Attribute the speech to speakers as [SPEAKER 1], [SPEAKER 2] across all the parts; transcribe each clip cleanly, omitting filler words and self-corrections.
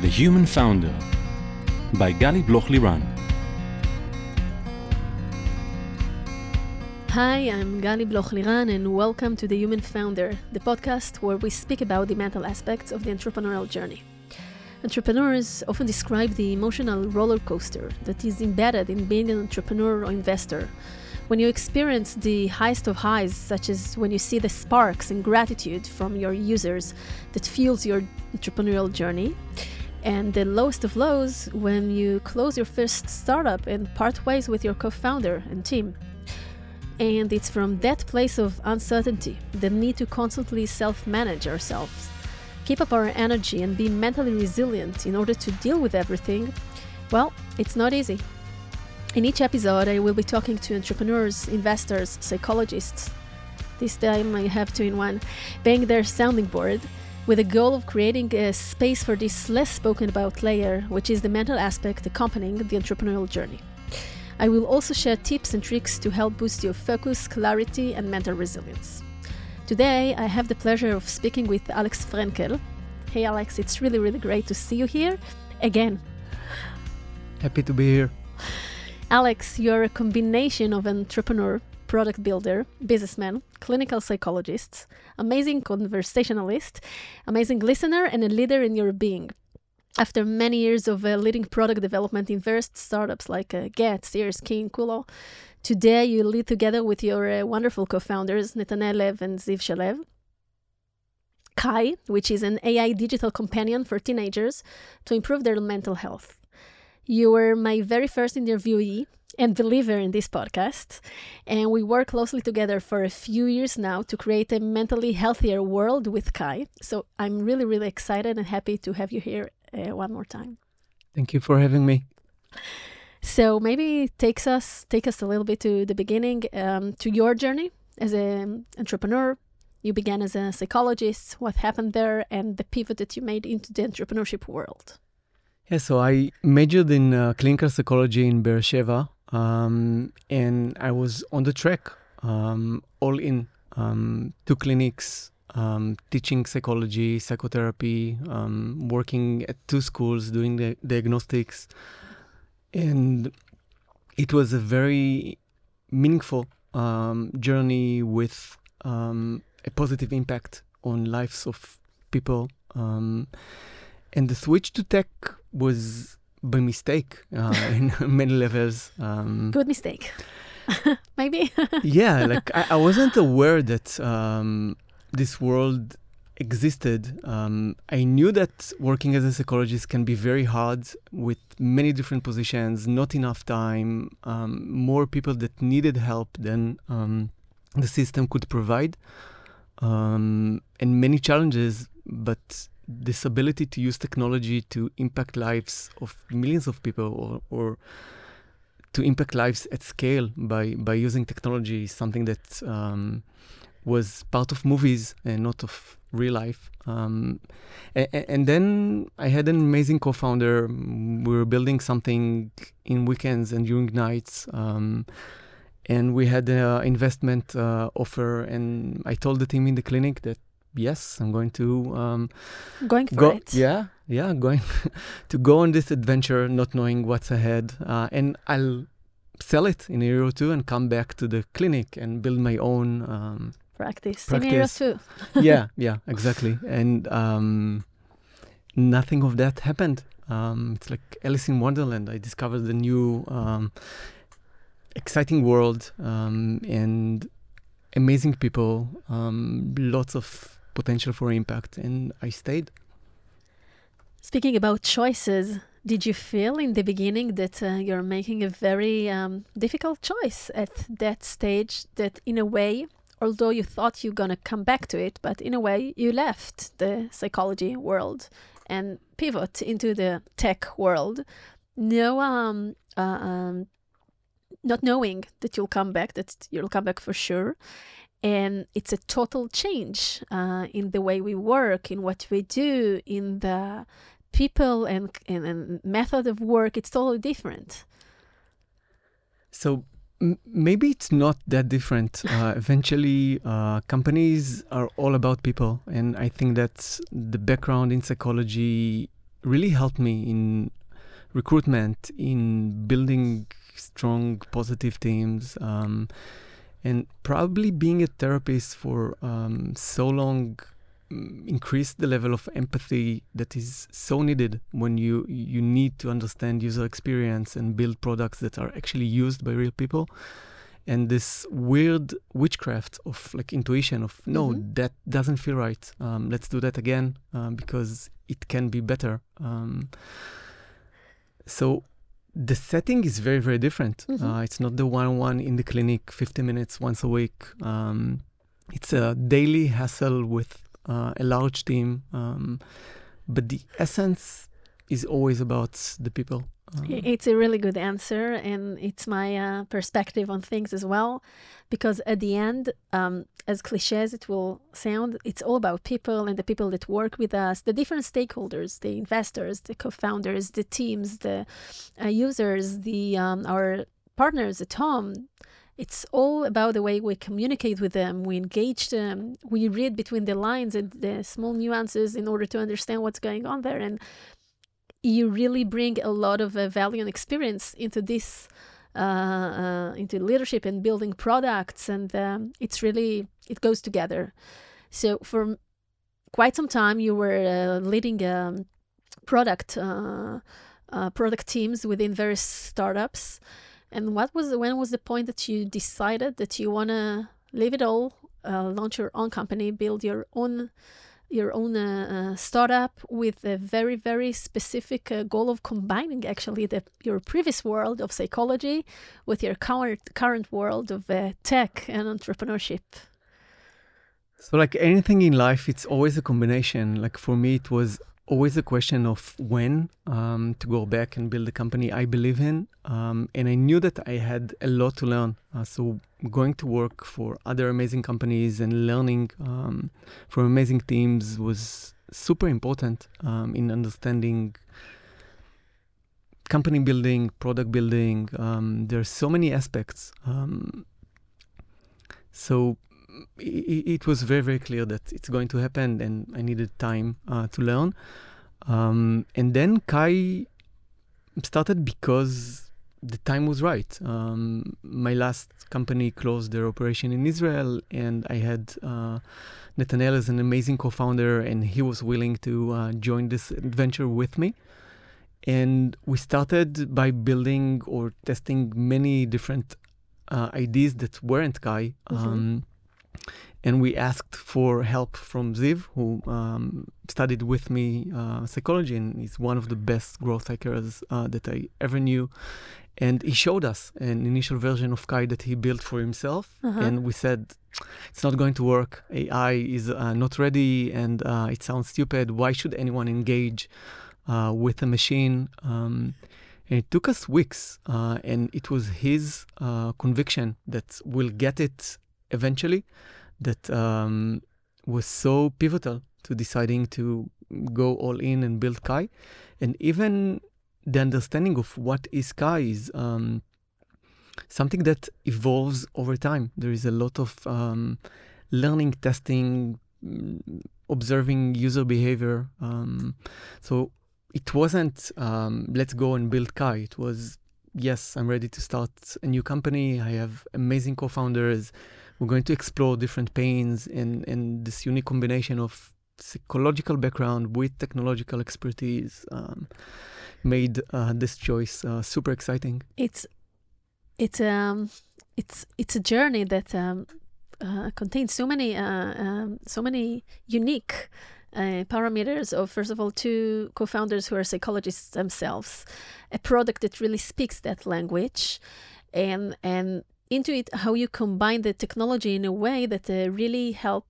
[SPEAKER 1] The Human Founder by Gali Bloch-Liran.
[SPEAKER 2] Hi, I'm Gali Bloch-Liran and welcome to The Human Founder, the podcast where we speak about the mental aspects of the entrepreneurial journey. Entrepreneurs often describe the emotional roller coaster that is embedded in being an entrepreneur or investor. When you experience the highest of highs, such as when you see the sparks and gratitude from your users that fuels your entrepreneurial journey, and the lowest of lows when you close your first startup and part ways with your co-founder and team. And it's from that place of uncertainty, the need to constantly self-manage ourselves, keep up our energy and be mentally resilient in order to deal with everything, well, it's not easy. In each episode, I will be talking to entrepreneurs, investors, psychologists. This time I have two in one, being their sounding board, with the goal of creating a space for this less spoken about layer, which is the mental aspect accompanying the entrepreneurial journey. I will also share tips and tricks to help boost your focus, clarity, and mental resilience. Today, I have the pleasure of speaking with Alex Frenkel. Hey Alex, it's really great to see you here again.
[SPEAKER 3] Happy to be here.
[SPEAKER 2] Alex, you're a combination of entrepreneur, product builder, businessman, clinical psychologist, amazing conversationalist, amazing listener, and a leader in your being. After many years of leading product development in various startups like Get, Sears, King, Kulo, today you lead together with your wonderful co-founders, Netanel Lev and Ziv Shalev, Kai, which is an AI digital companion for teenagers to improve their mental health. You were my very first interviewee and believer in this podcast, and we work closely together for a few years now to create a mentally healthier world with Kai. So I'm really excited and happy to have you here one more time.
[SPEAKER 3] Thank you for having me.
[SPEAKER 2] So maybe take us a little bit to the beginning, to your journey as an entrepreneur. You began as a psychologist, what happened there, and the pivot that you made into the entrepreneurship world.
[SPEAKER 3] Yeah, so I majored in clinical psychology in Be'er Sheva, and I was on the track, all in, 2 clinics, teaching psychology, psychotherapy, working at 2 schools, doing the diagnostics. And it was a very meaningful journey with a positive impact on lives of people. And the switch to tech was by mistake in many levels.
[SPEAKER 2] Good mistake. Maybe.
[SPEAKER 3] Yeah, like I wasn't aware that this world existed. I knew that working as a psychologist can be very hard with many different positions, not enough time, more people that needed help than the system could provide, and many challenges, but this ability to use technology to impact lives of millions of people or to impact lives at scale by using technology is something that was part of movies and not of real life. And then I had an amazing co-founder. We were building something in weekends and during nights. And we had an investment offer. And I told the team in the clinic that, yes, I'm going to
[SPEAKER 2] going for it.
[SPEAKER 3] Yeah, going to go on this adventure, not knowing what's ahead. And I'll sell it in a year or two and come back to the clinic and build my own
[SPEAKER 2] practice. In a year or two.
[SPEAKER 3] yeah, exactly. And nothing of that happened. It's like Alice in Wonderland. I discovered a new exciting world and amazing people, lots of potential for impact, and I stayed.
[SPEAKER 2] Speaking about choices, did you feel in the beginning that you're making a very difficult choice at that stage, that in a way, although you thought you're going to come back to it, but in a way you left the psychology world and pivot into the tech world, not knowing that you'll come back for sure. And it's a total change in the way we work, in what we do, in the people and method of work. It's totally different.
[SPEAKER 3] So maybe it's not that different. Eventually, companies are all about people. And I think that the background in psychology really helped me in recruitment, in building strong, positive teams, and probably being a therapist for so long increased the level of empathy that is so needed when you need to understand user experience and build products that are actually used by real people. And this weird witchcraft of like intuition of, no, that doesn't feel right. Let's do that again because it can be better. So the setting is very, very different. It's not the one-on-one in the clinic, 50 minutes once a week. It's a daily hassle with a large team. But the essence is always about the people.
[SPEAKER 2] It's a really good answer, and it's my perspective on things as well, because at the end, as cliche as it will sound, it's all about people and the people that work with us, the different stakeholders, the investors, the co-founders, the teams, the users, our partners at home. It's all about the way we communicate with them, we engage them, we read between the lines and the small nuances in order to understand what's going on there. And you really bring a lot of value and experience into this, into leadership and building products, and it goes together. So for quite some time, you were leading product teams within various startups. And when was the point that you decided that you want to leave it all, launch your own company, build your own startup with a very, very specific goal of combining actually your previous world of psychology with your current world of tech and entrepreneurship?
[SPEAKER 3] So like anything in life, it's always a combination. Like for me, it was always a question of when to go back and build a company I believe in. And I knew that I had a lot to learn. So going to work for other amazing companies and learning from amazing teams was super important in understanding company building, product building. There's so many aspects. So it was very, very clear that it's going to happen, and I needed time to learn. And then Kai started because the time was right. My last company closed their operation in Israel, and I had Nathaniel as an amazing co-founder, and he was willing to join this adventure with me. And we started by building or testing many different ideas that weren't Kai. And we asked for help from Ziv, who studied with me psychology, and he's one of the best growth hackers that I ever knew. And he showed us an initial version of Kai that he built for himself. And we said, it's not going to work. AI is not ready, and it sounds stupid. Why should anyone engage with a machine? And it took us weeks, and it was his conviction that we'll get it eventually that was so pivotal to deciding to go all in and build Kai. And even the understanding of what is Kai is something that evolves over time. There is a lot of learning, testing, observing user behavior. So it wasn't let's go and build Kai. It was, yes, I'm ready to start a new company. I have amazing co-founders. We're going to explore different pains and this unique combination of psychological background with technological expertise made this choice super exciting.
[SPEAKER 2] It's a journey that contains so many unique parameters of, first of all, two co-founders who are psychologists themselves, a product that really speaks that language, and into it how you combine the technology in a way that really help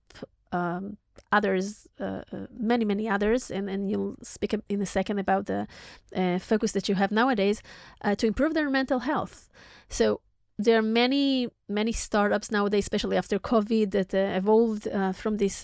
[SPEAKER 2] others, many others, and you'll speak in a second about the focus that you have nowadays to improve their mental health. So there are many startups nowadays, especially after COVID, that evolved from this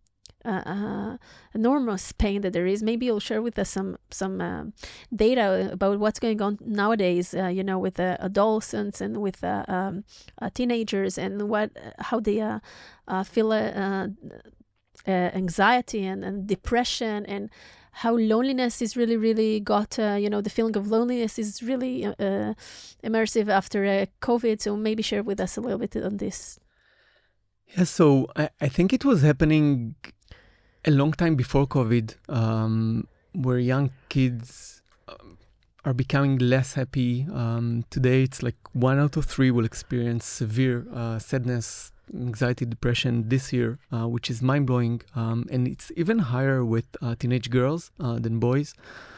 [SPEAKER 2] enormous pain that there is. Maybe you'll share with us some data about what's going on nowadays, with adolescents and with teenagers, and how they feel anxiety and depression, and how loneliness is really, really got, the feeling of loneliness is really immersive after COVID. So maybe share with us a little bit on this.
[SPEAKER 3] Yeah, so I think it was happening a long time before COVID, where young kids are becoming less happy. Today, it's like 1 out of 3 will experience severe sadness, anxiety, depression this year, which is mind-blowing. And it's even higher with teenage girls than boys.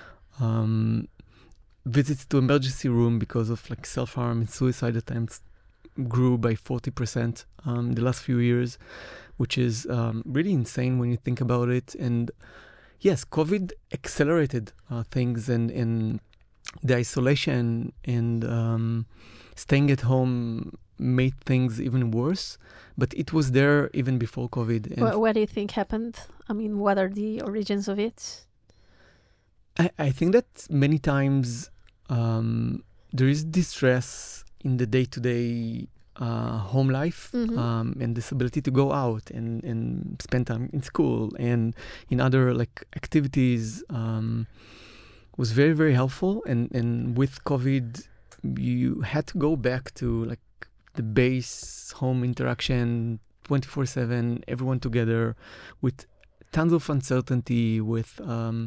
[SPEAKER 3] Visits to emergency room because of like self-harm and suicide attempts grew by 40% the last few years, which is really insane when you think about it. And yes, COVID accelerated things, and the isolation and staying at home made things even worse. But it was there even before COVID. And
[SPEAKER 2] What do you think happened? I mean, what are the origins of it?
[SPEAKER 3] I think that many times there is distress in the day-to-day home life, and this ability to go out and spend time in school and in other like activities was very, very helpful. And with COVID, you had to go back to like the base home interaction 24/7, everyone together, with tons of uncertainty, with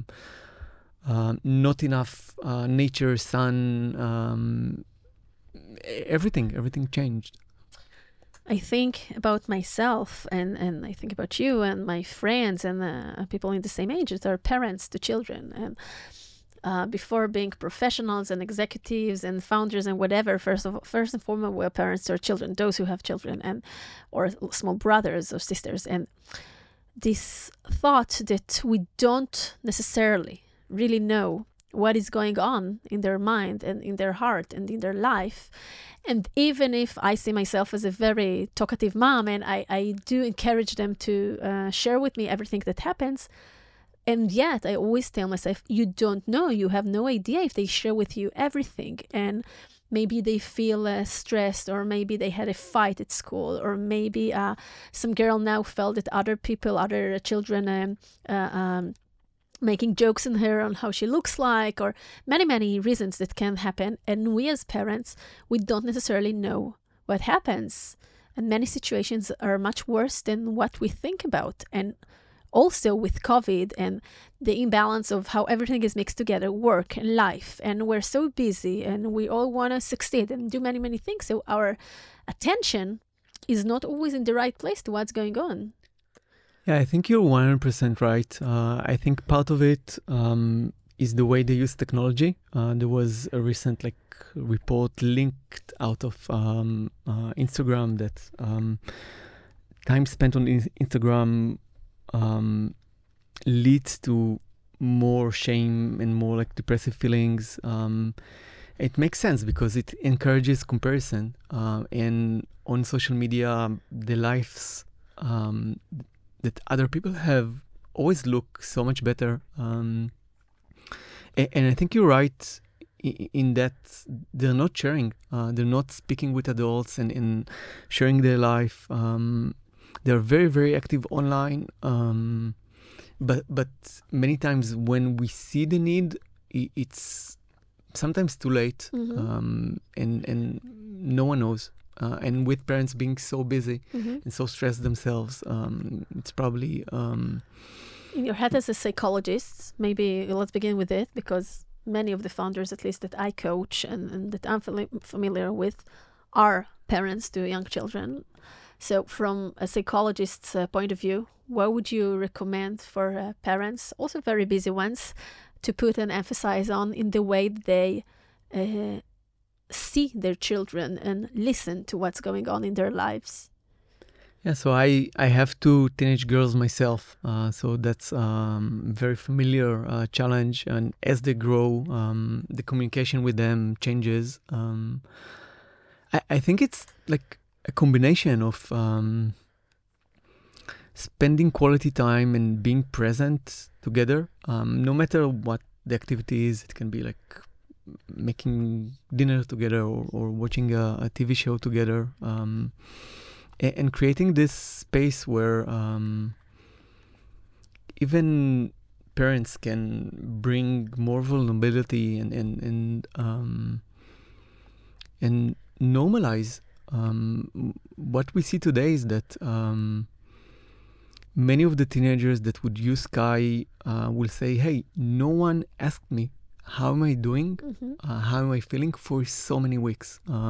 [SPEAKER 3] not enough nature, sun, everything changed.
[SPEAKER 2] I think about myself and I think about you and my friends and people in the same age that are parents to children. And before being professionals and executives and founders and whatever, first and foremost, we're parents to our children, those who have children and or small brothers or sisters. And this thought that we don't necessarily really know what is going on in their mind and in their heart and in their life. And even if I see myself as a very talkative mom and I do encourage them to share with me everything that happens, and yet I always tell myself, you don't know, you have no idea if they share with you everything. And maybe they feel stressed, or maybe they had a fight at school, or maybe some girl now felt that other children making jokes in her on how she looks like, or many reasons that can happen. And we as parents, we don't necessarily know what happens. And many situations are much worse than what we think about. And also with COVID and the imbalance of how everything is mixed together, work and life, and we're so busy and we all want to succeed and do many things. So our attention is not always in the right place to what's going on.
[SPEAKER 3] Yeah, I think you're 100% right. I think part of it is the way they use technology. There was a recent report linked out of Instagram that time spent on Instagram leads to more shame and more depressive feelings. It makes sense because it encourages comparison. And on social media, the lives that other people have always look so much better. And I think you're right in that they're not sharing. They're not speaking with adults and sharing their life. They're very, very active online. But many times when we see the need, it's sometimes too late. And no one knows. And with parents being so busy and so stressed themselves, it's probably...
[SPEAKER 2] In your head as a psychologist, maybe let's begin with it, because many of the founders, at least that I coach and that I'm familiar with, are parents to young children. So from a psychologist's point of view, what would you recommend for parents, also very busy ones, to put an emphasis on in the way they see their children and listen to what's going on in their lives?
[SPEAKER 3] Yeah, so I have 2 teenage girls myself, so that's very familiar challenge. And as they grow, the communication with them changes. I think it's like a combination of spending quality time and being present together, no matter what the activity is. It can be like making dinner together or watching a TV show together, and creating this space where even parents can bring more vulnerability and normalize. What we see today is that many of the teenagers that would use Sky will say, hey, no one asked me, how am I doing? How am I feeling for so many weeks?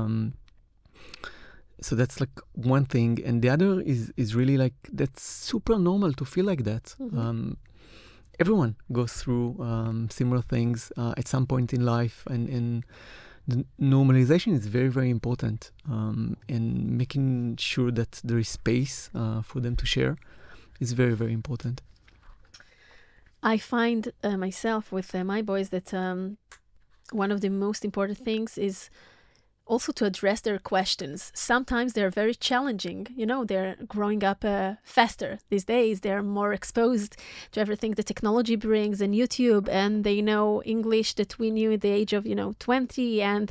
[SPEAKER 3] So that's like one thing. And the other is really like, that's super normal to feel like that. Everyone goes through similar things at some point in life. And the normalization is very, very important. And making sure that there is space for them to share is very, very important.
[SPEAKER 2] I find myself with my boys that one of the most important things is also to address their questions. Sometimes they're very challenging. You know, they're growing up faster these days. They're more exposed to everything the technology brings and YouTube, and they know English that we knew at the age of, 20, and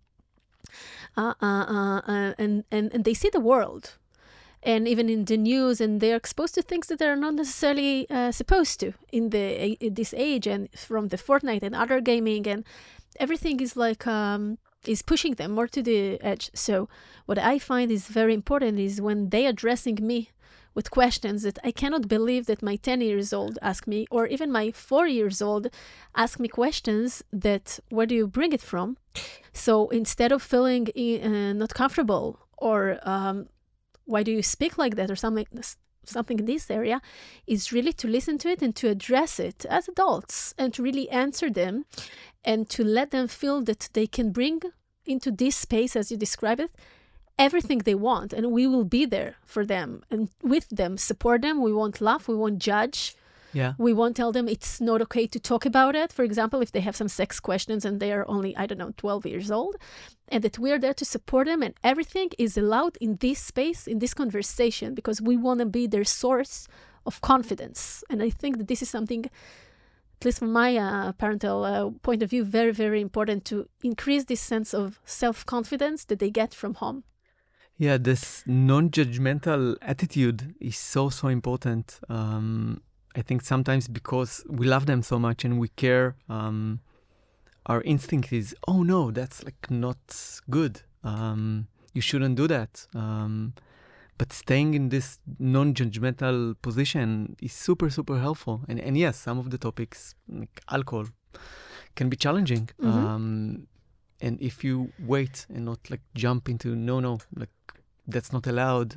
[SPEAKER 2] they see the world. And even in the news, and they're exposed to things that they're not necessarily supposed to in this age, and from the Fortnite and other gaming, and everything is like is pushing them more to the edge. So what I find is very important is when they addressing me with questions that I cannot believe that my 10 years old ask me, or even my 4 years old ask me questions that, where do you bring it from? So instead of feeling not comfortable, or why do you speak like that, or something in this area, is really to listen to it and to address it as adults, and to really answer them, and to let them feel that they can bring into this space, as you describe it, everything they want, and we will be there for them and with them, support them. We won't laugh, we won't judge.
[SPEAKER 3] Yeah.
[SPEAKER 2] We won't tell them it's not okay to talk about it. For example, if they have some sex questions and they are only, 12 years old, and that we're there to support them, and everything is allowed in this space, in this conversation, because we want to be their source of confidence. And I think that this is something, at least from my parental point of view, very, very important to increase this sense of self-confidence that they get from home.
[SPEAKER 3] Yeah, this non-judgmental attitude is so, so important. I think sometimes because we love them so much and we care, our instinct is, oh no, that's like not good. You shouldn't do that. But staying in this non-judgmental position is super, super helpful. And yes, some of the topics, like alcohol, can be challenging. And if you wait and not like jump into, no, like that's not allowed,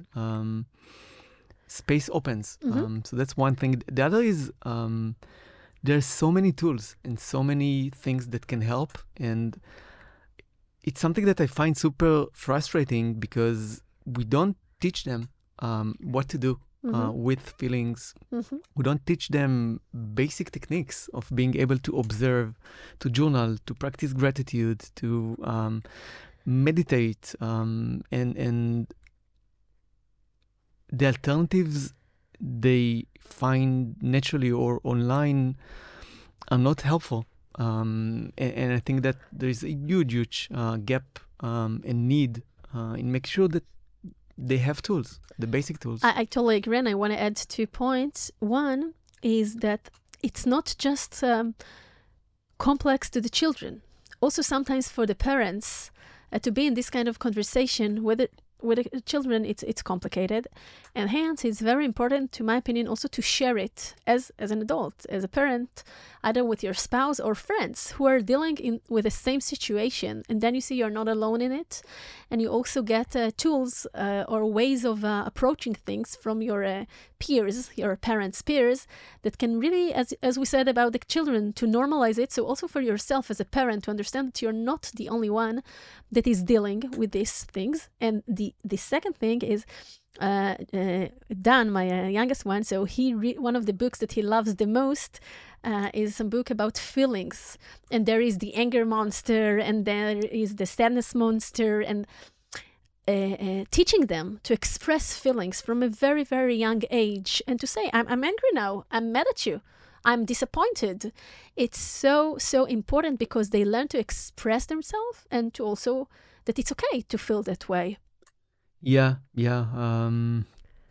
[SPEAKER 3] space opens. So that's one thing. The other is there's so many tools and so many things that can help. And it's something that I find super frustrating because we don't teach them what to do with feelings. We don't teach them basic techniques of being able to observe, to journal, to practice gratitude, to meditate, and the alternatives they find naturally or online are not helpful. And I think that there is a huge gap and need in making sure that they have tools, the basic tools.
[SPEAKER 2] I totally agree, and I want to add 2 points. One is that it's not just complex to the children. Also, sometimes for the parents, to be in this kind of conversation with the children, it's complicated. And hence, it's very important, to my opinion, also to share it as an adult, as a parent, either with your spouse or friends who are dealing with the same situation. And then you see you're not alone in it. And you also get tools or ways of approaching things from your peers, your parents' peers, that can really, as we said about the children, to normalize it. So also for yourself as a parent, to understand that you're not the only one that is dealing with these things. And the second thing is, Dan, my youngest one, so one of the books that he loves the most is some book about feelings. And there is the anger monster, and there is the sadness monster, and teaching them to express feelings from a very, very young age, and to say, I'm angry now, I'm mad at you, I'm disappointed. It's so, so important, because they learn to express themselves, and to also that it's okay to feel that way.
[SPEAKER 3] Yeah.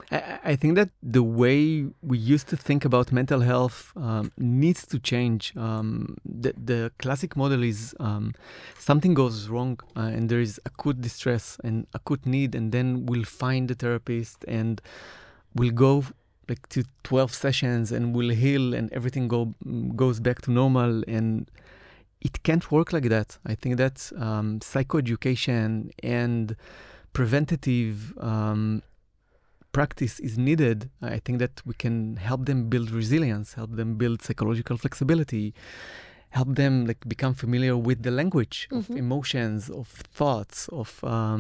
[SPEAKER 3] I think that the way we used to think about mental health needs to change. The classic model is something goes wrong and there is acute distress and acute need, and then we'll find the therapist and we'll go like to 12 sessions and we'll heal and everything goes back to normal. And it can't work like that. I think that psychoeducation and preventative practice is needed. I think that we can help them build resilience, help them build psychological flexibility, help them like become familiar with the language of emotions, of thoughts, of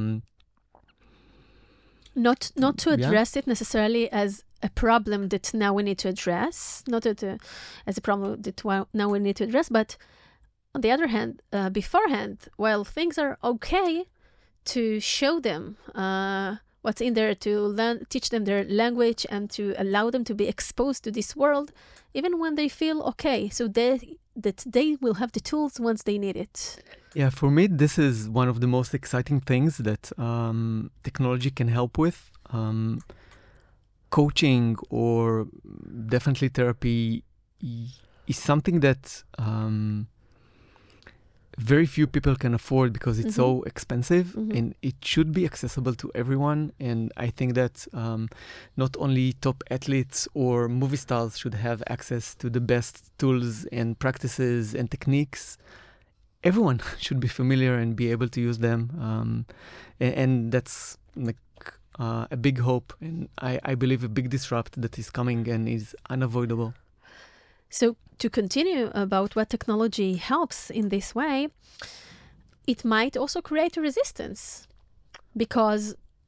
[SPEAKER 2] not to address it necessarily as a problem that now we need to address, not as a problem that now we need to address, but on the other hand, beforehand, while things are okay, to show them what's in there, to teach them their language and to allow them to be exposed to this world, even when they feel okay, so that they will have the tools once they need it.
[SPEAKER 3] Yeah, for me, this is one of the most exciting things that technology can help with. Coaching or definitely therapy is something that very few people can afford because it's so expensive, and it should be accessible to everyone. And I think that not only top athletes or movie stars should have access to the best tools and practices and techniques. Everyone should be familiar and be able to use them. And that's like a big hope, and I believe a big disrupt that is coming and is unavoidable.
[SPEAKER 2] So to continue about what technology helps in this way, it might also create a resistance, because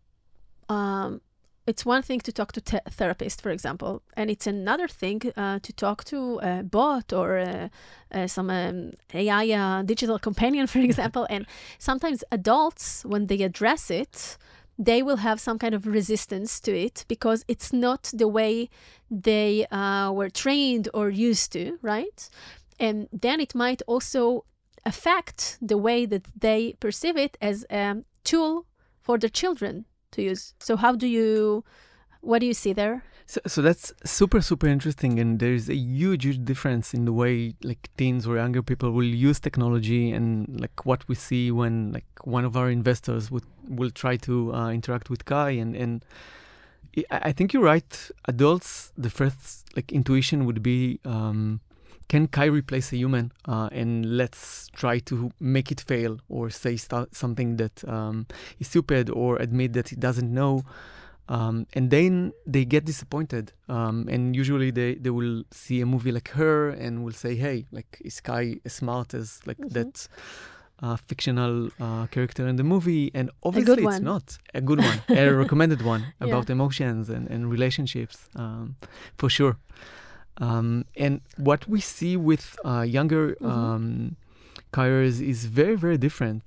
[SPEAKER 2] it's one thing to talk to a therapist, for example, and it's another thing to talk to a bot or some AI digital companion, for example. And sometimes adults, when they address it, they will have some kind of resistance to it because it's not the way they were trained or used to, right? And then it might also affect the way that they perceive it as a tool for their children to use. So what do you see there?
[SPEAKER 3] So that's super, super interesting. And there's a huge, huge difference in the way like teens or younger people will use technology and like what we see when like one of our investors will try to interact with Kai. And I think you're right. Adults, the first like intuition would be, can Kai replace a human? And let's try to make it fail or say something that is stupid or admit that he doesn't know. And then they get disappointed. And usually they will see a movie like Her and will say, hey, like, is Kai as smart as like that fictional character in the movie? And obviously it's not. A good one. A recommended one about emotions and relationships, for sure. And what we see with younger Kaiers is very, very different.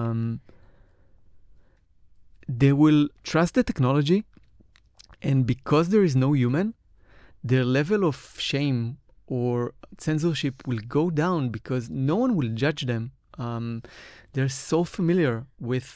[SPEAKER 3] They will trust the technology, and because there is no human, their level of shame or censorship will go down because no one will judge them. They're so familiar with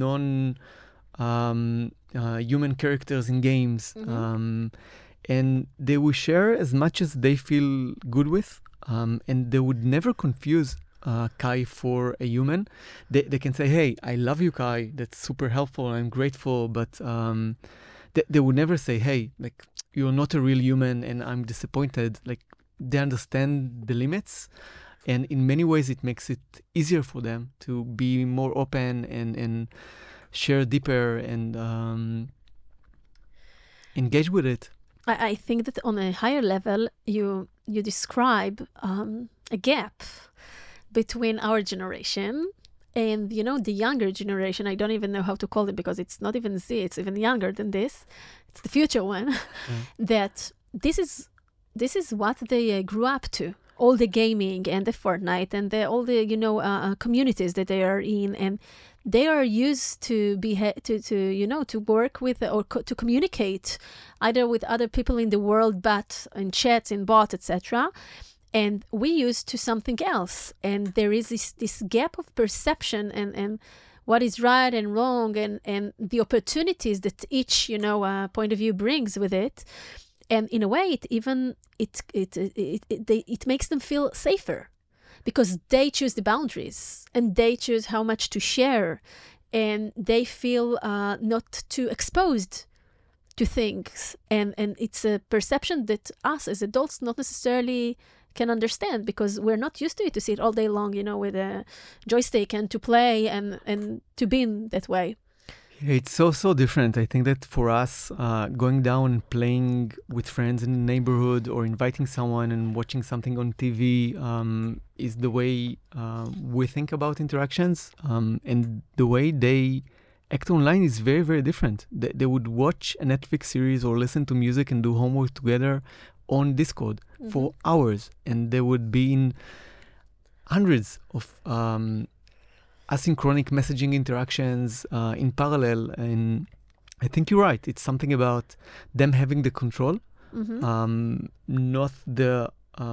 [SPEAKER 3] non-human characters in games, and they will share as much as they feel good with, and they would never confuse Kai for a human. They can say, hey, I love you, Kai. That's super helpful. I'm grateful. But they would never say, hey, like, you're not a real human and I'm disappointed. Like, they understand the limits. And in many ways, it makes it easier for them to be more open and share deeper and engage with it.
[SPEAKER 2] I think that on a higher level, you describe a gap between our generation and, the younger generation. I don't even know how to call it because it's not even Z, it's even younger than this. It's the future one. That this is what they grew up to. All the gaming and the Fortnite and all the communities that they are in, and they are used to to work with or to communicate either with other people in the world, but in chats, in bots, etc. And we used to something else, and there is this gap of perception, and what is right and wrong, and the opportunities that each, point of view brings with it. And in a way, it makes them feel safer because they choose the boundaries and they choose how much to share, and they feel not too exposed to things. And it's a perception that us as adults not necessarily can understand because we're not used to it, to sit all day long, with a joystick and to play and to be in that way.
[SPEAKER 3] It's so different. I think that for us, going down and playing with friends in the neighborhood or inviting someone and watching something on TV is the way we think about interactions. And the way they act online is very, very different. They would watch a Netflix series or listen to music and do homework together on Discord for hours. And they would be in hundreds of asynchronic messaging interactions in parallel. And I think you're right. It's something about them having the control, not the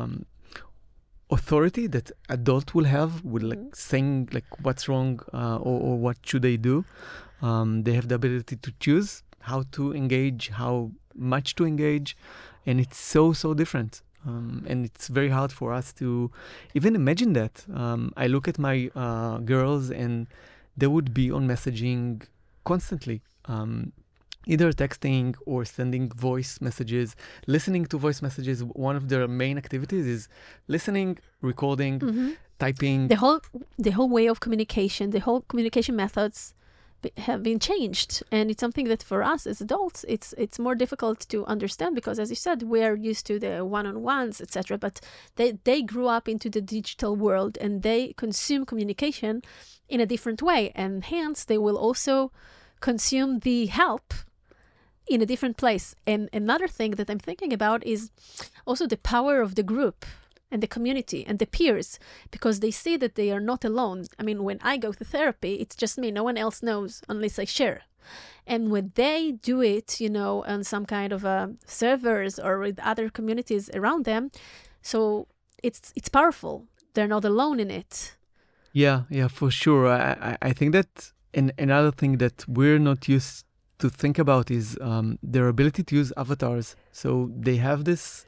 [SPEAKER 3] authority that adult will have with saying what's wrong or what should they do. They have the ability to choose how to engage, how much to engage. And it's so different. And it's very hard for us to even imagine that. I look at my girls and they would be on messaging constantly, either texting or sending voice messages, listening to voice messages. One of their main activities is listening, recording, typing.
[SPEAKER 2] The whole way of communication, the whole communication methods have been changed, and it's something that for us as adults it's more difficult to understand because, as you said, we are used to the one-on-ones, etc. But they grew up into the digital world and they consume communication in a different way, and hence they will also consume the help in a different place. And another thing that I'm thinking about is also the power of the group and the community and the peers, because they see that they are not alone. I mean, when I go to therapy, it's just me. No one else knows unless I share. And when they do it, on some kind of servers or with other communities around them, so it's powerful. They're not alone in it.
[SPEAKER 3] Yeah, for sure. I think that another thing that we're not used to think about is their ability to use avatars. So they have this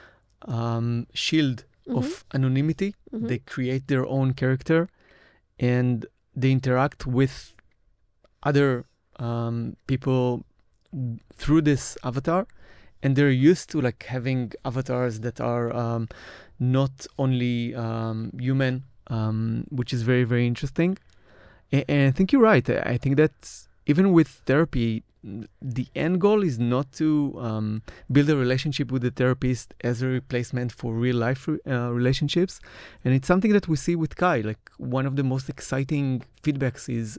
[SPEAKER 3] shield of anonymity. They create their own character and they interact with other people through this avatar, and they're used to having avatars that are not only human, which is very, very interesting. And I think you're right. I think that even with therapy, the end goal is not to build a relationship with the therapist as a replacement for real life relationships. And it's something that we see with Kai. One of the most exciting feedbacks is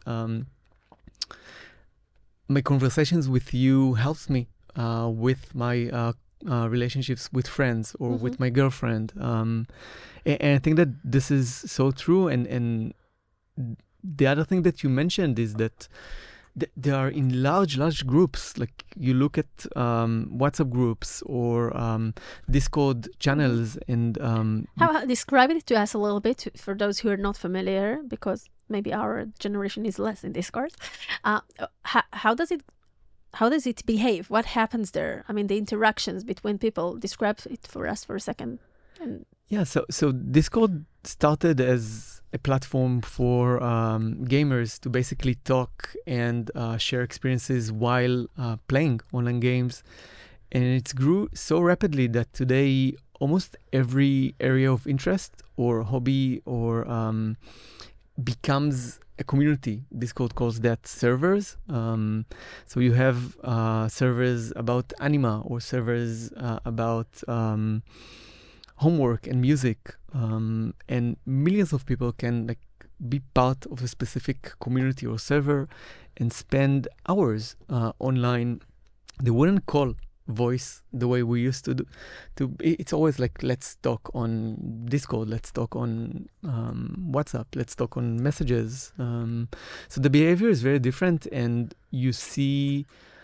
[SPEAKER 3] my conversations with you helps me with my relationships with friends or with my girlfriend. And I think that this is so true. And the other thing that you mentioned is that they are in large groups. You look at WhatsApp groups or Discord channels, and
[SPEAKER 2] how describe it to us a little bit for those who are not familiar, because maybe our generation is less in Discord. How does it behave? What happens there? I mean, the interactions between people. Describe it for us for a second.
[SPEAKER 3] So Discord started as a platform for gamers to basically talk and share experiences while playing online games. And it grew so rapidly that today almost every area of interest or hobby or becomes a community. Discord calls that servers. So you have servers about anime or servers about homework and music, and millions of people can be part of a specific community or server and spend hours online. They wouldn't call voice the way we used to do. It's always let's talk on Discord, let's talk on WhatsApp, let's talk on messages. So the behavior is very different, and you see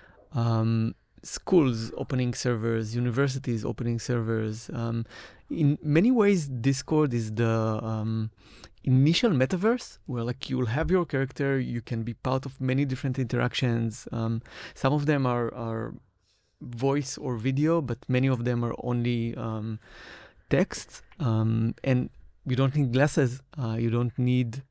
[SPEAKER 3] schools opening servers, universities opening servers. In many ways, Discord is the initial metaverse where like you will have your character, you can be part of many different interactions. Some of them are voice or video, but many of them are only text. And you don't need glasses. You don't need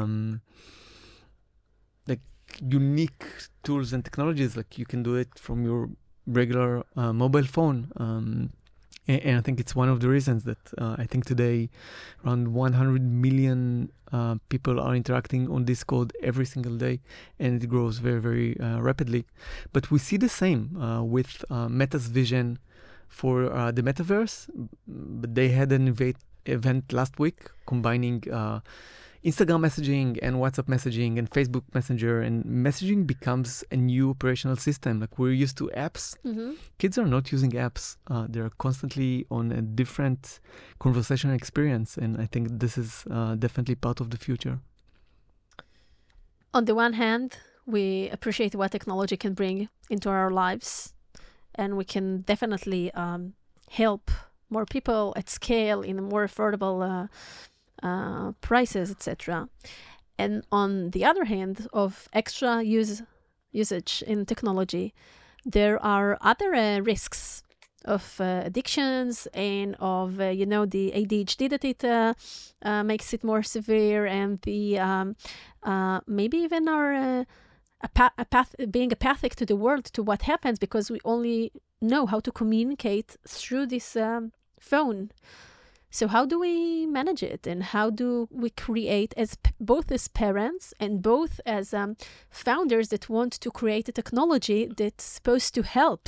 [SPEAKER 3] like unique tools and technologies. Like you can do it from your regular mobile phone. And I think it's one of the reasons that I think today around 100 million people are interacting on Discord every single day, and it grows very, very rapidly. But we see the same with Meta's vision for the metaverse. But they had an event last week combining Instagram messaging and WhatsApp messaging and Facebook Messenger, and messaging becomes a new operational system. Like we're used to apps.
[SPEAKER 2] Mm-hmm.
[SPEAKER 3] Kids are not using apps. They're constantly on a different conversational experience. And I think this is definitely part of the future.
[SPEAKER 2] On the one hand, we appreciate what technology can bring into our lives, and we can definitely help more people at scale in a more affordable prices, etc. And on the other hand, of extra usage in technology, there are other risks of addictions and of the ADHD that it makes it more severe, and the maybe even our being apathic to the world, to what happens, because we only know how to communicate through this phone. So how do we manage it, and how do we create, as both as parents and both as founders that want to create a technology that's supposed to help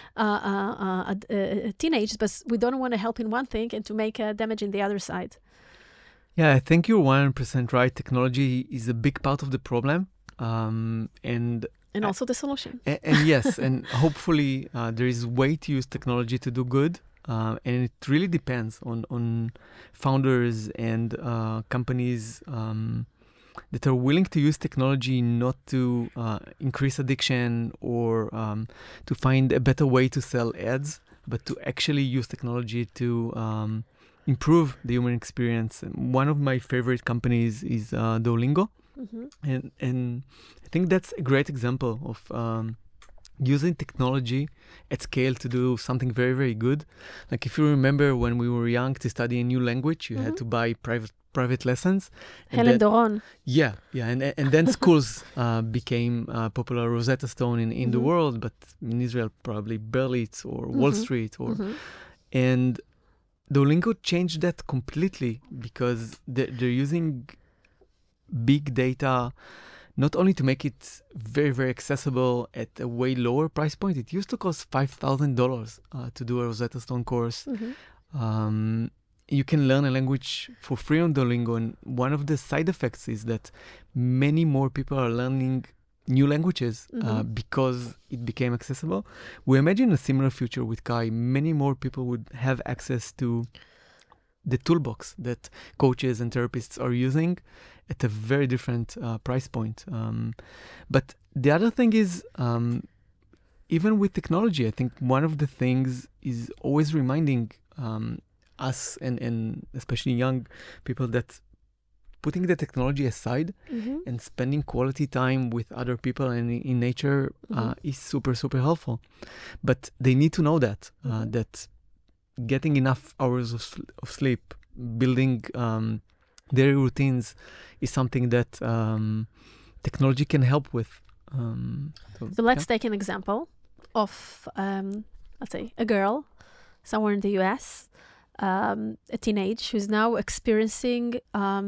[SPEAKER 2] teenagers, but we don't want to help in one thing and to make damage in the other side?
[SPEAKER 3] Yeah, I think you're 100% right. Technology is a big part of the problem, and
[SPEAKER 2] also the solution.
[SPEAKER 3] And yes, and hopefully there is a way to use technology to do good. And it really depends on founders and companies that are willing to use technology not to increase addiction or to find a better way to sell ads, but to actually use technology to improve the human experience. And one of my favorite companies is Duolingo. Mm-hmm. And I think that's a great example of using technology at scale to do something very, very good. Like if you remember when we were young to study a new language, you had to buy private lessons.
[SPEAKER 2] Helen Doron.
[SPEAKER 3] Yeah. And then schools became popular. Rosetta Stone in the world, but in Israel probably Berlitz or Wall Street. And Duolingo changed that completely because they're using big data not only to make it very, very accessible at a way lower price point. It used to cost $5,000 to do a Rosetta Stone course. Mm-hmm. You can learn a language for free on Duolingo, and one of the side effects is that many more people are learning new languages because it became accessible. We imagine a similar future with Kai. Many more people would have access to the toolbox that coaches and therapists are using at a very different price point. But the other thing is, even with technology, I think one of the things is always reminding us and especially young people that putting the technology aside and spending quality time with other people and in nature is super, super helpful. But they need to know that, that getting enough hours of sleep, building daily routines is something that technology can help with.
[SPEAKER 2] So let's take an example of, let's say, a girl somewhere in the US, a teenage who's now experiencing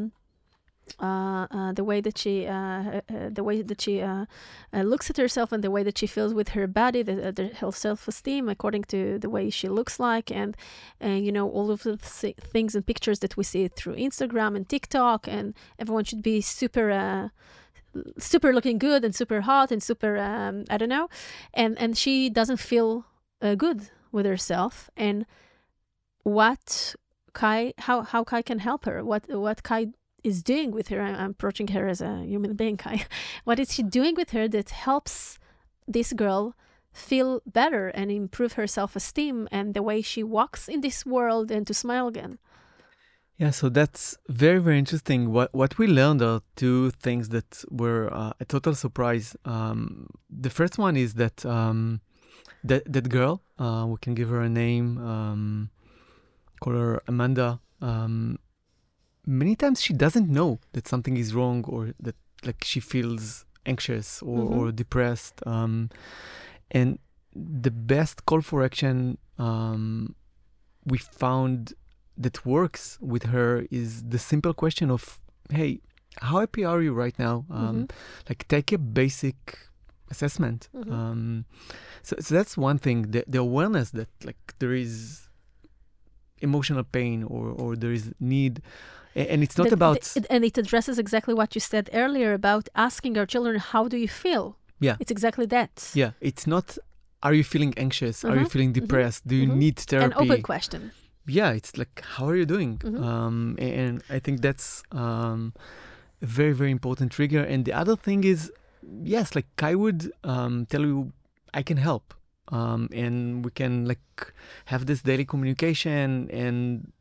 [SPEAKER 2] the way that she looks at herself and the way that she feels with her body, her self-esteem according to the way she looks like, and all of the things and pictures that we see through Instagram and TikTok, and everyone should be super looking good and super hot and super I don't know, and she doesn't feel good with herself. And how Kai can help her, what Kai is doing with her. I'm approaching her as a human being, Kai. What is she doing with her that helps this girl feel better and improve her self-esteem and the way she walks in this world and to smile again?
[SPEAKER 3] Yeah, so that's very, very interesting. What we learned are two things that were a total surprise. The first one is that that girl, we can give her a name, call her Amanda. Many times she doesn't know that something is wrong or that like she feels anxious or depressed. And the best call for action we found that works with her is the simple question of, hey, how happy are you right now? Like take a basic assessment. So that's one thing, the awareness that like there is emotional pain or there is need. And it's not about...
[SPEAKER 2] And it addresses exactly what you said earlier about asking our children, how do you feel?
[SPEAKER 3] Yeah.
[SPEAKER 2] It's exactly that.
[SPEAKER 3] Yeah. It's not, are you feeling anxious? Are you feeling depressed? Do you need therapy?
[SPEAKER 2] An open question.
[SPEAKER 3] Yeah. It's like, how are you doing? And I think that's a very, very important trigger. And the other thing is, yes, like Kai would tell you, I can help. And we can like have this daily communication and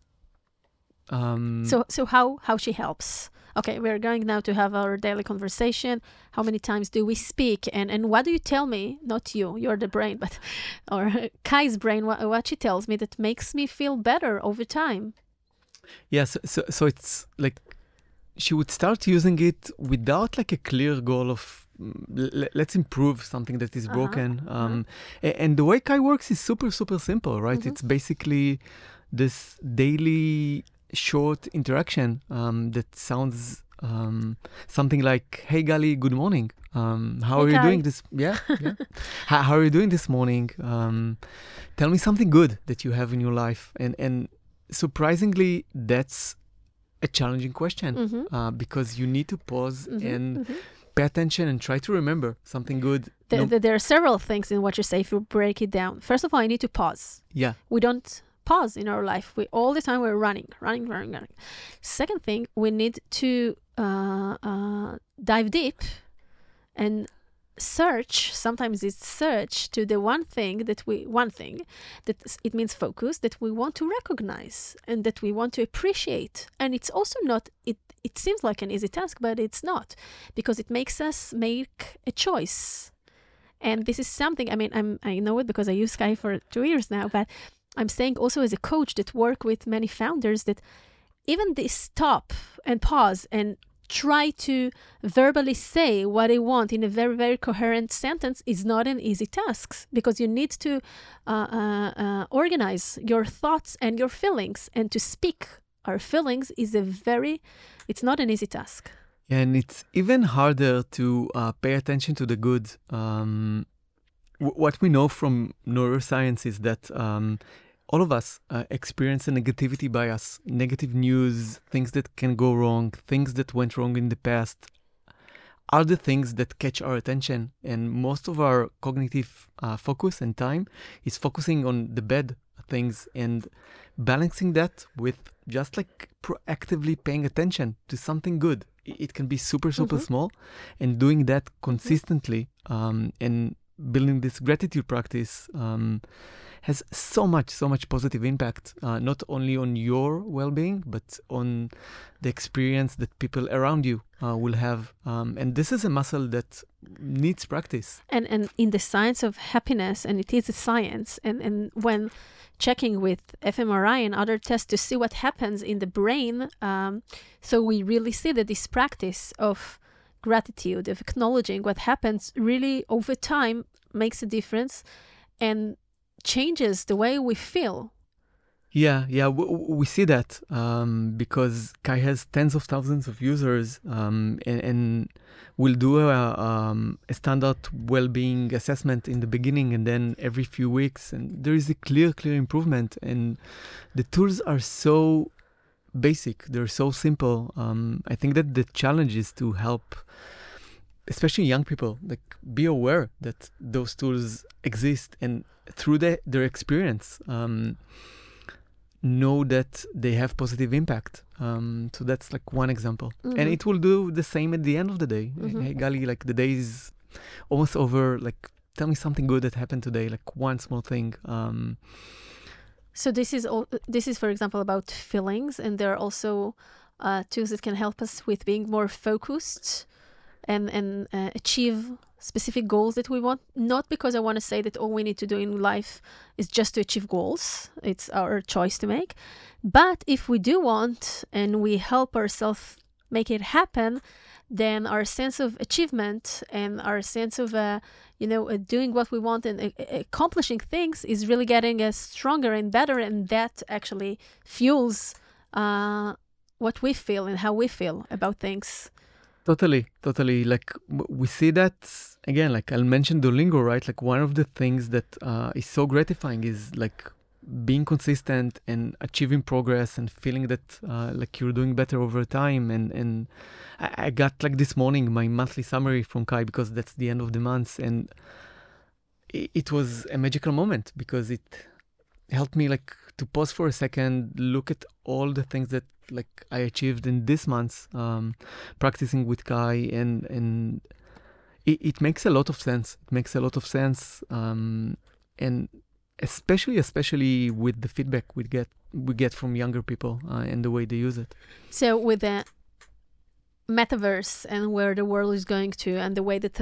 [SPEAKER 2] So how she helps? Okay, we're going now to have our daily conversation. How many times do we speak? And what do you tell me? Not you, you're the brain, but or Kai's brain. What she tells me that makes me feel better over time.
[SPEAKER 3] Yeah, so it's like she would start using it without like a clear goal of let's improve something that is broken. And the way Kai works is super, super simple, right? It's basically this daily short interaction that sounds something like, hey Gali, good morning. How are you doing this? Yeah. How are you doing this morning? Tell me something good that you have in your life. And surprisingly, that's a challenging question because you need to pause and pay attention and try to remember something good.
[SPEAKER 2] There are several things in what you say if you break it down. First of all, you need to pause.
[SPEAKER 3] Yeah.
[SPEAKER 2] We don't pause in our life. All the time we're running. Second thing, we need to dive deep and search. Sometimes it's search to the one thing that it means focus, that we want to recognize and that we want to appreciate. And it's also not, it seems like an easy task, but it's not, because it makes us make a choice. And this is something, I mean, I know it because I use Sky for 2 years now, but I'm saying also as a coach that work with many founders that even this stop and pause and try to verbally say what they want in a very, very coherent sentence is not an easy task, because you need to organize your thoughts and your feelings, and to speak our feelings is it's not an easy task.
[SPEAKER 3] And it's even harder to pay attention to the good. What we know from neuroscience is that all of us experience a negativity bias, negative news, things that can go wrong, things that went wrong in the past are the things that catch our attention. And most of our cognitive focus and time is focusing on the bad things and balancing that with just like proactively paying attention to something good. It can be super, super small, and doing that consistently and building this gratitude practice has so much positive impact, not only on your well-being, but on the experience that people around you will have. And this is a muscle that needs practice.
[SPEAKER 2] And in the science of happiness, and it is a science, and when checking with fMRI and other tests to see what happens in the brain, so we really see that this practice of gratitude, of acknowledging what happens, really over time makes a difference and changes the way we feel.
[SPEAKER 3] Yeah, we see that because Kai has tens of thousands of users and will do a standard well-being assessment in the beginning and then every few weeks, and there is a clear improvement. And the tools are so basic, they're so simple. I think that the challenge is to help, especially young people, like be aware that those tools exist, and through their experience, know that they have positive impact. So that's like one example. And it will do the same at the end of the day. Hey, Gali, like the day is almost over. Like, tell me something good that happened today, like one small thing.
[SPEAKER 2] So this is, for example, about feelings, and there are also tools that can help us with being more focused and achieve specific goals that we want. Not because I want to say that all we need to do in life is just to achieve goals. It's our choice to make. But if we do want and we help ourselves make it happen, then our sense of achievement and our sense of doing what we want and accomplishing things is really getting stronger and better, and that actually fuels what we feel and how we feel about things.
[SPEAKER 3] Totally. Like we see that again. Like I'll mention Duolingo, right? Like one of the things that is so gratifying is like being consistent and achieving progress and feeling that like you're doing better over time. And I got like this morning my monthly summary from Kai, because that's the end of the month, and it was a magical moment because it helped me like to pause for a second, look at all the things that like I achieved in this month, practicing with Kai, and it makes a lot of sense. And especially with the feedback we get from younger people and the way they use it.
[SPEAKER 2] So with the metaverse and where the world is going to, and the way that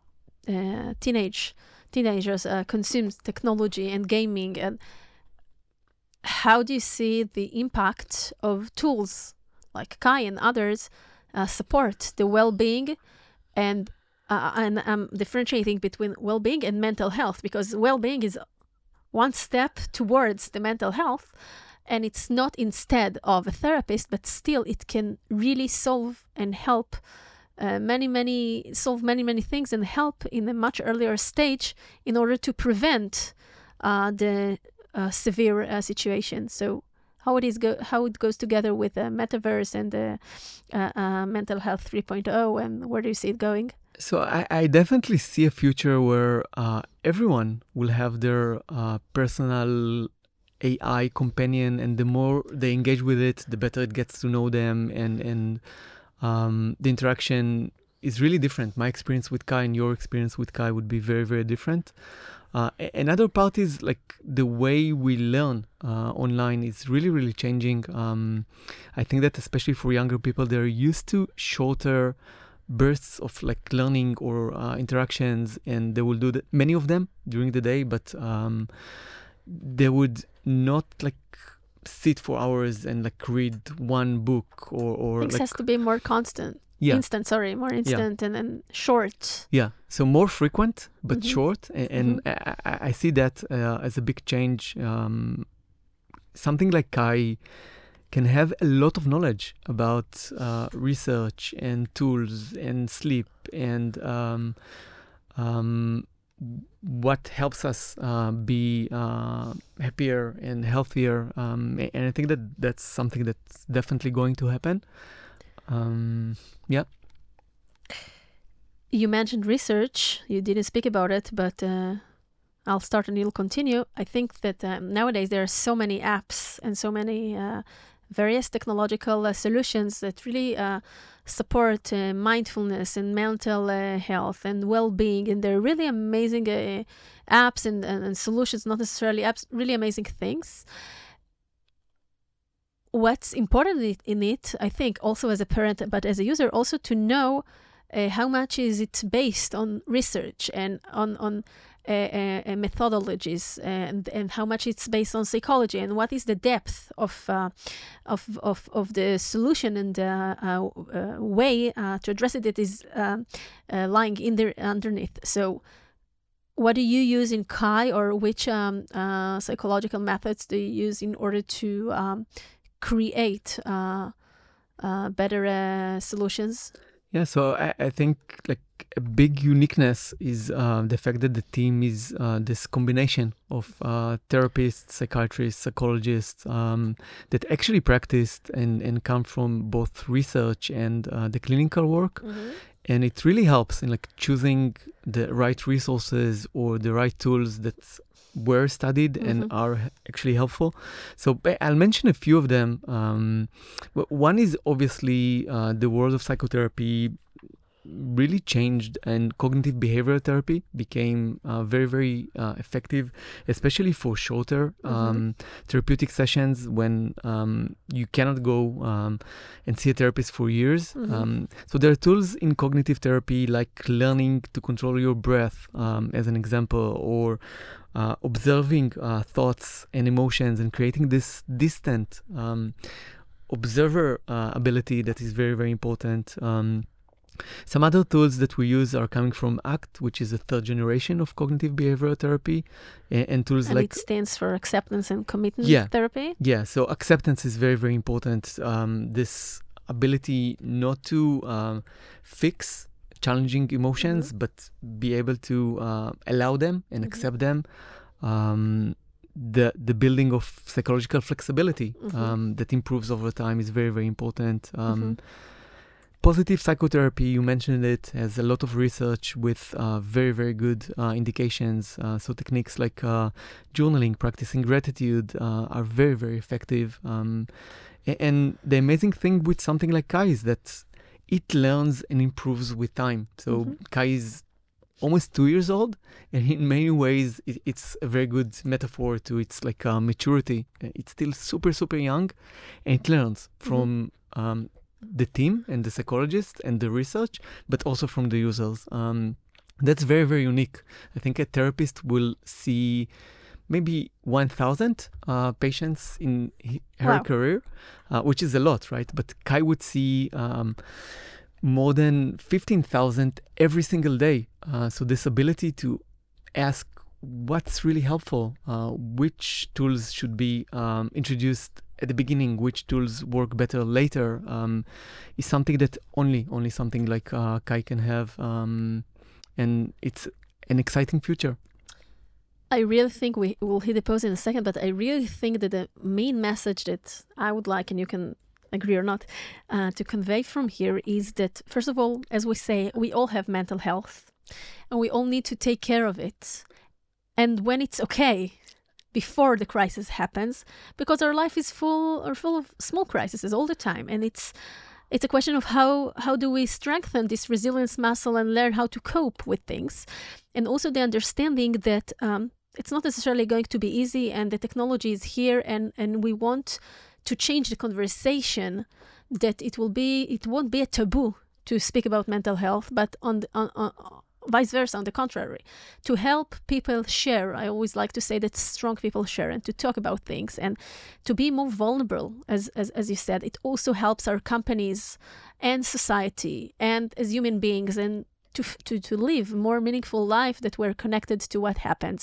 [SPEAKER 2] teenagers consume technology and gaming, and how do you see the impact of tools like Kai and others support the well-being? And I'm differentiating between well-being and mental health, because well-being is one step towards the mental health, and it's not instead of a therapist, but still it can really solve and help many things, and help in a much earlier stage in order to prevent the severe situation. So how it goes together with the metaverse and the mental health 3.0, and where do you see it going?
[SPEAKER 3] So I definitely see a future where everyone will have their personal AI companion, and the more they engage with it, the better it gets to know them, and the interaction is really different. My experience with Kai and your experience with Kai would be very, very different. Another part is like the way we learn online is really, really changing. I think that especially for younger people, they're used to shorter bursts of like learning or interactions, and they will do many of them during the day, but they would not like sit for hours and like read one book or
[SPEAKER 2] Things
[SPEAKER 3] like
[SPEAKER 2] has to be more constant.
[SPEAKER 3] Yeah.
[SPEAKER 2] More instant, and short.
[SPEAKER 3] Yeah, so more frequent, but
[SPEAKER 2] Mhm.
[SPEAKER 3] short. And I see that as a big change. Something like Kai can have a lot of knowledge about research and tools and sleep and what helps us be happier and healthier. And I think that that's something that's definitely going to happen. Yeah.
[SPEAKER 2] You mentioned research. You didn't speak about it, but I'll start and you'll continue. I think that nowadays there are so many apps and so many various technological solutions that really support mindfulness and mental health and well-being. And they're really amazing apps and solutions, not necessarily apps, really amazing things. What's important in it, I think, also as a parent, but as a user, also to know how much is it based on research and on methodologies, and how much it's based on psychology, and what is the depth of the solution and way to address it that is lying in there underneath. So what do you use in Kai, or which psychological methods do you use in order to create better solutions?
[SPEAKER 3] Yeah, so I think like a big uniqueness is the fact that the team is this combination of therapists, psychiatrists, psychologists that actually practiced and come from both research and the clinical work.
[SPEAKER 2] Mm-hmm.
[SPEAKER 3] And it really helps in like choosing the right resources or the right tools that were studied and are actually helpful. So I'll mention a few of them. One is obviously the world of psychotherapy really changed, and cognitive behavioral therapy became very, very effective, especially for shorter therapeutic sessions when you cannot go and see a therapist for years. So there are tools in cognitive therapy like learning to control your breath, as an example, or observing thoughts and emotions and creating this distant observer ability that is very, very important. Some other tools that we use are coming from ACT, which is a third generation of cognitive behavioral therapy, and tools
[SPEAKER 2] and
[SPEAKER 3] like...
[SPEAKER 2] it stands for acceptance and commitment therapy?
[SPEAKER 3] Yeah, so acceptance is very, very important. This ability not to fix challenging emotions, but be able to allow them and accept them. The building of psychological flexibility that improves over time is very, very important. Positive psychotherapy, you mentioned it, has a lot of research with very, very good indications. So techniques like journaling, practicing gratitude are very, very effective. And the amazing thing with something like Kai is that it learns and improves with time. So Kai is almost 2 years old, and in many ways it's a very good metaphor to its like maturity. It's still super, super young, and it learns from the team and the psychologist and the research, but also from the users. That's very, very unique. I think a therapist will see maybe 1,000 patients in her career, which is a lot, right? But Kai would see more than 15,000 every single day. So this ability to ask what's really helpful, which tools should be introduced at the beginning, which tools work better later, is something that only something like Kai can have. And it's an exciting future.
[SPEAKER 2] I really think we will hit the pause in a second, but I really think that the main message that I would like, and you can agree or not, to convey from here is that, first of all, as we say, we all have mental health and we all need to take care of it. And when it's okay, before the crisis happens, because our life is full of small crises all the time. And it's a question of how do we strengthen this resilience muscle and learn how to cope with things. And also the understanding that it's not necessarily going to be easy, and the technology is here, and we want to change the conversation, that it won't be a taboo to speak about mental health, but on vice versa, on the contrary, to help people share. I always like to say that strong people share, and to talk about things and to be more vulnerable, as you said. It also helps our companies and society and as human beings, and to live a more meaningful life that we're connected to what happens.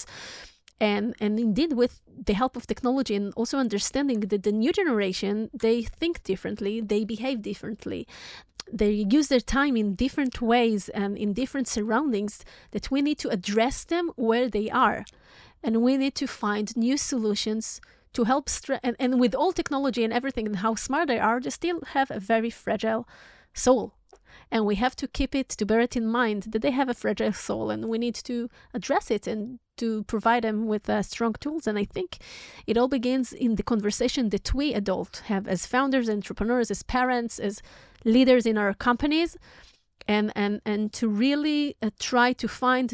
[SPEAKER 2] And indeed, with the help of technology and also understanding that the new generation, they think differently, they behave differently, they use their time in different ways and in different surroundings, that we need to address them where they are. And we need to find new solutions to help and with all technology and everything and how smart they are, they still have a very fragile soul. And we have to to bear it in mind that they have a fragile soul, and we need to address it and to provide them with strong tools. And I think it all begins in the conversation that we adults have as founders, entrepreneurs, as parents, as leaders in our companies, and to really try to find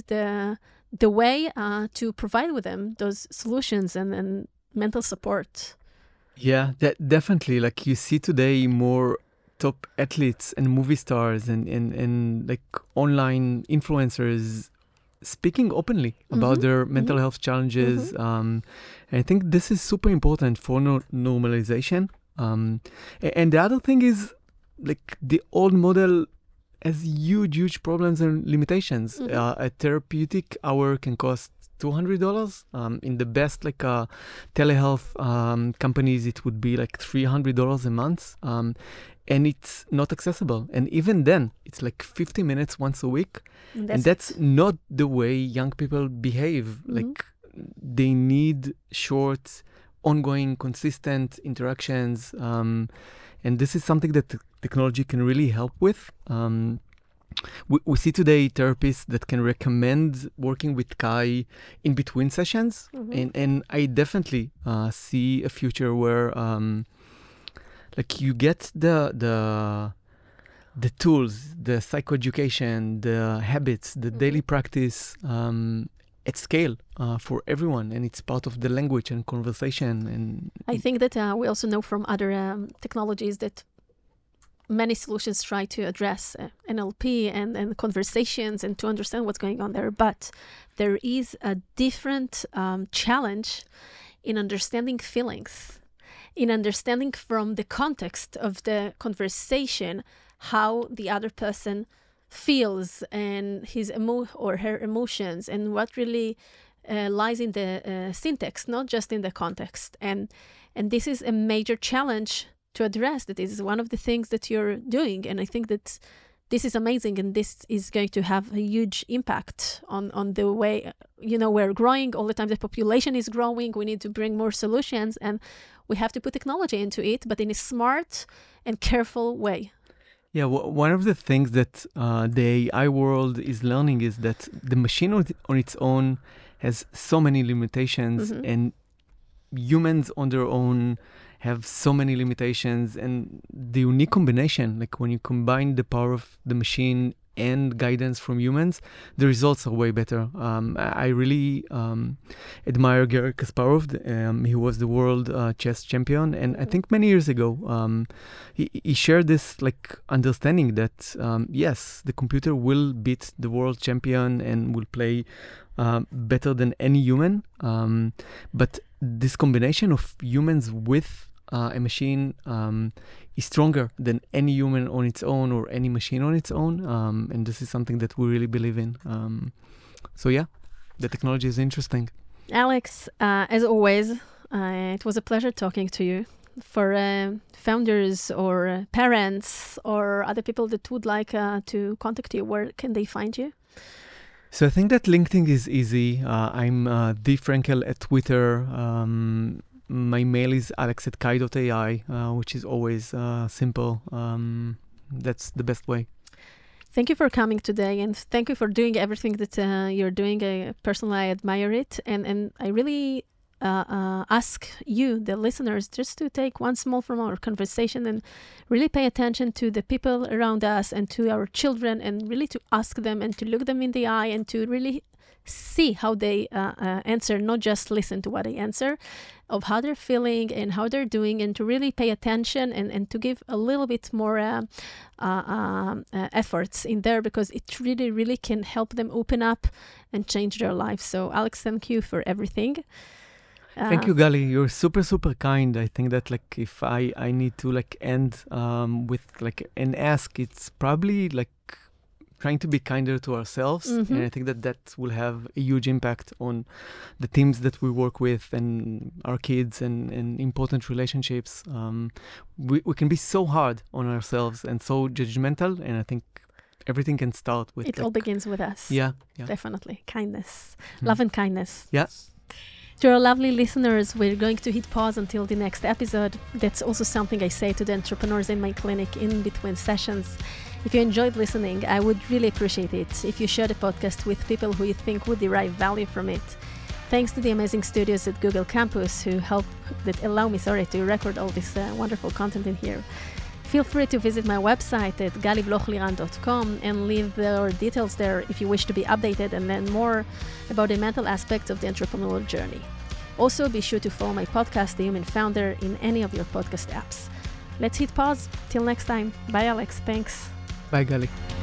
[SPEAKER 2] the way to provide with them those solutions and mental support.
[SPEAKER 3] Yeah, definitely. Like you see today more top athletes and movie stars and like online influencers speaking openly about their mental health challenges. And I think this is super important for normalization. And the other thing is, like, the old model has huge problems and limitations. A therapeutic hour can cost $200. In the best telehealth companies, it would be like $300 a month. And it's not accessible. And even then, it's like 50 minutes once a week. And that's not the way young people behave. Like, they need short, ongoing, consistent interactions. And this is something that technology can really help with. We see today therapists that can recommend working with Kai in between sessions. And I definitely see a future where like you get the the tools, the psychoeducation, the habits, the daily practice at scale for everyone, and it's part of the language and conversation. And
[SPEAKER 2] I think that we also know from other technologies that many solutions try to address NLP and conversations and to understand what's going on there, but there is a different challenge in understanding feelings, in understanding from the context of the conversation how the other person feels and his or her emotions, and what really lies in the syntax, not just in the context. And this is a major challenge to address. That is one of the things that you're doing, and I think that this is amazing, and this is going to have a huge impact on the way, we're growing all the time. The population is growing. We need to bring more solutions, and we have to put technology into it, but in a smart and careful way.
[SPEAKER 3] Yeah, one of the things that the AI world is learning is that the machine on its own has so many limitations, and humans on their own have so many limitations. And the unique combination, like when you combine the power of the machine and guidance from humans, the results are way better. I really admire Garry Kasparov. He was the world chess champion, and I think many years ago he shared this understanding that yes, the computer will beat the world champion and will play better than any human, but this combination of humans with a machine is stronger than any human on its own or any machine on its own, and this is something that we really believe in. So yeah, the technology is interesting.
[SPEAKER 2] Alex, as always, it was a pleasure talking to you. For founders or parents or other people that would like to contact you, where can they find you?
[SPEAKER 3] So I think that LinkedIn is easy. I'm dfrankel at Twitter. My mail is alex@kai.ai, which is always simple. That's the best way.
[SPEAKER 2] Thank you for coming today, and thank you for doing everything that you're doing. Personally, I admire it, and I really ask you, the listeners, just to take one small from our conversation and really pay attention to the people around us and to our children, and really to ask them and to look them in the eye and to really see how they answer, not just listen to what they answer, of how they're feeling and how they're doing, and to really pay attention and to give a little bit more efforts in there, because it really, really can help them open up and change their lives. So Alex, thank you for everything.
[SPEAKER 3] Thank you, Gali. You're super, super kind. I think that if I need to end with an ask, it's probably trying to be kinder to ourselves. And I think that will have a huge impact on the teams that we work with and our kids and important relationships. We can be so hard on ourselves and so judgmental, and I think everything can start with...
[SPEAKER 2] It all begins with us.
[SPEAKER 3] Yeah.
[SPEAKER 2] Definitely. Kindness. Love and kindness.
[SPEAKER 3] Yeah.
[SPEAKER 2] To our lovely listeners, we're going to hit pause until the next episode. That's also something I say to the entrepreneurs in my clinic in between sessions. If you enjoyed listening, I would really appreciate it if you share the podcast with people who you think would derive value from it. Thanks to the amazing studios at Google Campus who allow me to record all this wonderful content in here. Feel free to visit my website at galiblochliran.com and leave your details there if you wish to be updated and learn more about the mental aspects of the entrepreneurial journey. Also, be sure to follow my podcast, The Human Founder, in any of your podcast apps. Let's hit pause. Till next time. Bye, Alex. Thanks.
[SPEAKER 3] Bye, Gali.